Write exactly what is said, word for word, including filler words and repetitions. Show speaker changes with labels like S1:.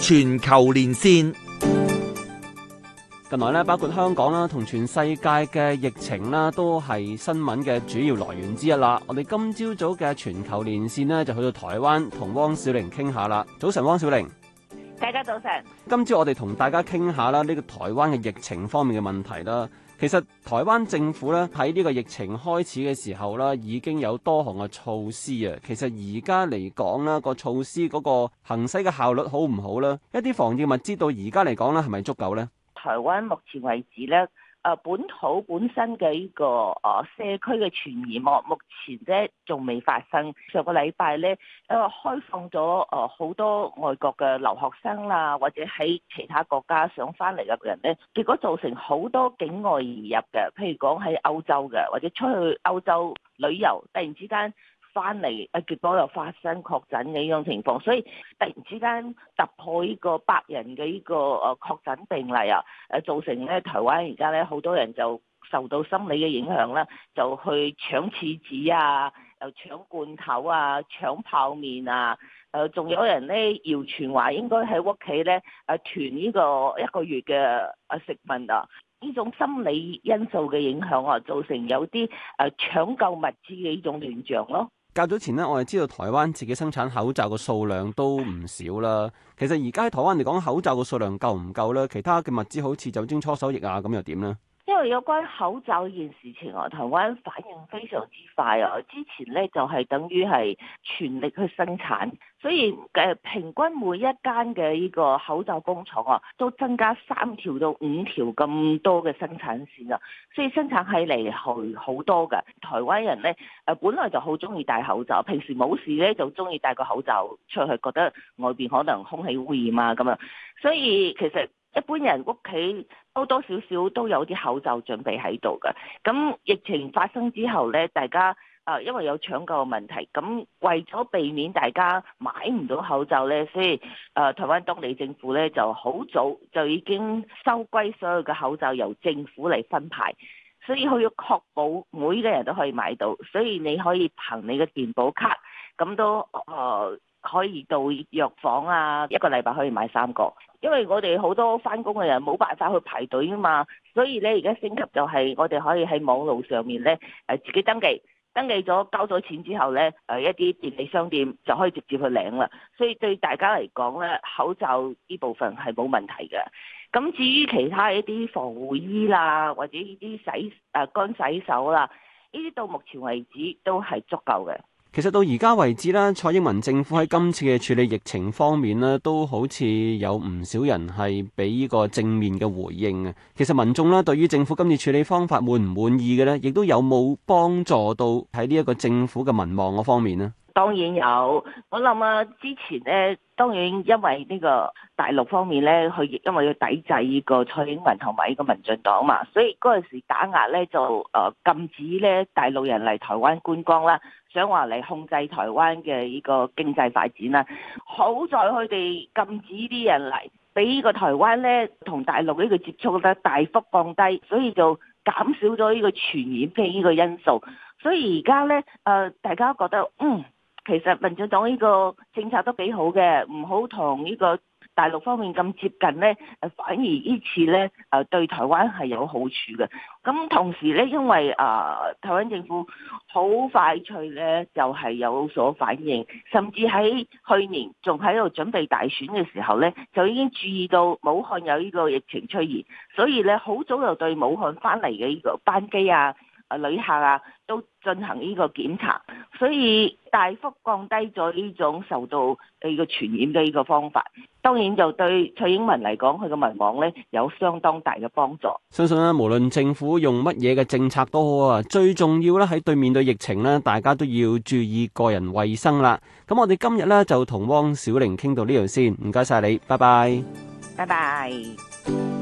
S1: 全球連線。
S2: 近來咧，包括香港啦，同全世界嘅疫情啦，都係新聞嘅主要來源之一啦。我哋今朝早嘅全球連線呢，就去到台灣同汪小玲傾下啦。早晨，汪小玲。
S3: 大家早晨。
S2: 今朝我哋同大家傾下啦，呢個台灣嘅疫情方面嘅問題啦。其實台灣政府咧喺呢個疫情開始嘅時候啦，已經有多項嘅措施啊。其實而家嚟講啦，個措施嗰個行使嘅效率好唔好咧？一啲防疫物資到而家嚟講咧，係咪足夠咧？
S3: 台灣目前為止咧，誒本土本身嘅呢個誒社區嘅傳染啊，目前咧仲未發生。上個禮拜咧，誒開放咗誒好多外國嘅留學生啦，或者喺其他國家想翻嚟嘅人咧，結果造成好多境外移入嘅，譬如講喺歐洲嘅，或者出去歐洲旅遊，突然之間翻嚟，誒結果又發生確診嘅呢種情況，所以突然之間突破呢個百人嘅呢個誒確診病例啊，誒造成咧台灣而家咧好多人就受到心理嘅影響啦，就去搶廁紙啊，又搶罐頭啊，搶泡麵啊，誒仲有人咧謠傳話應該喺屋企咧誒囤呢個一個月嘅誒食物啊。呢種心理因素嘅影響啊，造成有啲誒搶購物資嘅呢種亂象咯。
S2: 較早前呢，我哋知道台灣自己生產口罩嘅數量都唔少啦。其實而家喺台灣嚟講，口罩嘅數量夠唔夠咧？其他嘅物資好似酒精搓手液啊，咁又點呢？
S3: 因為有關口罩呢件事情啊，台灣反應非常之快啊！之前咧就係等於係全力去生產，所以誒平均每一間嘅呢個口罩工廠啊，都增加三條到五條咁多嘅生產線啊，所以生產起嚟係好多嘅。台灣人咧誒本來就好中意戴口罩，平時冇事咧就中意戴個口罩出去，覺得外邊可能空氣污染啊咁樣，所以其實一般人屋企多多少少都有啲口罩準備喺度嘅。咁疫情發生之後咧，大家啊因為有搶購嘅問題，咁為咗避免大家買唔到口罩咧，所以誒台灣當地政府咧就好早就已經收歸所有嘅口罩由政府嚟分派，所以佢要確保每個人都可以買到，所以你可以憑你嘅健保卡咁都誒。呃可以到藥房啊，一個禮拜可以買三個，因為我哋好多返工嘅人冇辦法去排隊啊嘛，所以咧而家升級就係我哋可以喺網路上面咧誒自己登記，登記咗交咗錢之後咧誒一啲便利商店就可以直接去領啦，所以對大家嚟講咧口罩呢部分係冇問題嘅。咁至於其他一啲防護衣啦，或者呢啲洗誒乾洗手啦，呢啲到目前為止都係足夠嘅。
S2: 其實到而家為止咧，蔡英文政府喺今次嘅處理疫情方面咧，都好似有唔少人係俾呢個正面嘅回應啊。其實民眾咧對於政府今次處理方法滿唔滿意嘅咧，亦都有冇幫助到喺呢一個政府嘅民望嗰方面呢？
S3: 當然有，我諗啊，之前咧，當然因為呢個大陸方面咧，佢因為要抵制呢個蔡英文同埋呢個民進黨嘛，所以嗰陣時打壓咧就誒禁止咧大陸人嚟台灣觀光啦，想話嚟控制台灣嘅呢個經濟發展啦。好在佢哋禁止啲人嚟，俾呢個台灣咧同大陸呢個接觸咧大幅降低，所以就減少咗呢個傳染嘅呢個因素。所以而家咧誒，大家覺得嗯。其實民進黨呢個政策都幾好嘅，唔好同呢個大陸方面咁接近呢，誒反而呢次呢誒對台灣係有好處嘅。咁同時呢，因為誒台灣政府好快脆呢，就係有所反應，甚至喺去年仲喺度準備大選嘅時候呢，就已經注意到武漢有呢個疫情出現，所以呢，好早就對武漢翻嚟嘅呢個班機啊、啊旅客啊都進行呢個檢查，所以大幅降低咗呢種受到呢個傳染嘅呢個方法。當然就對蔡英文嚟講，佢嘅民望咧有相當大嘅幫助。
S2: 相信咧，無論政府用乜嘢嘅政策都好啊，最重要咧喺對面對疫情咧，大家都要注意個人衛生啦。咁我哋今日咧就同汪小玲傾到呢度先，唔該晒你，拜拜。
S3: 拜拜。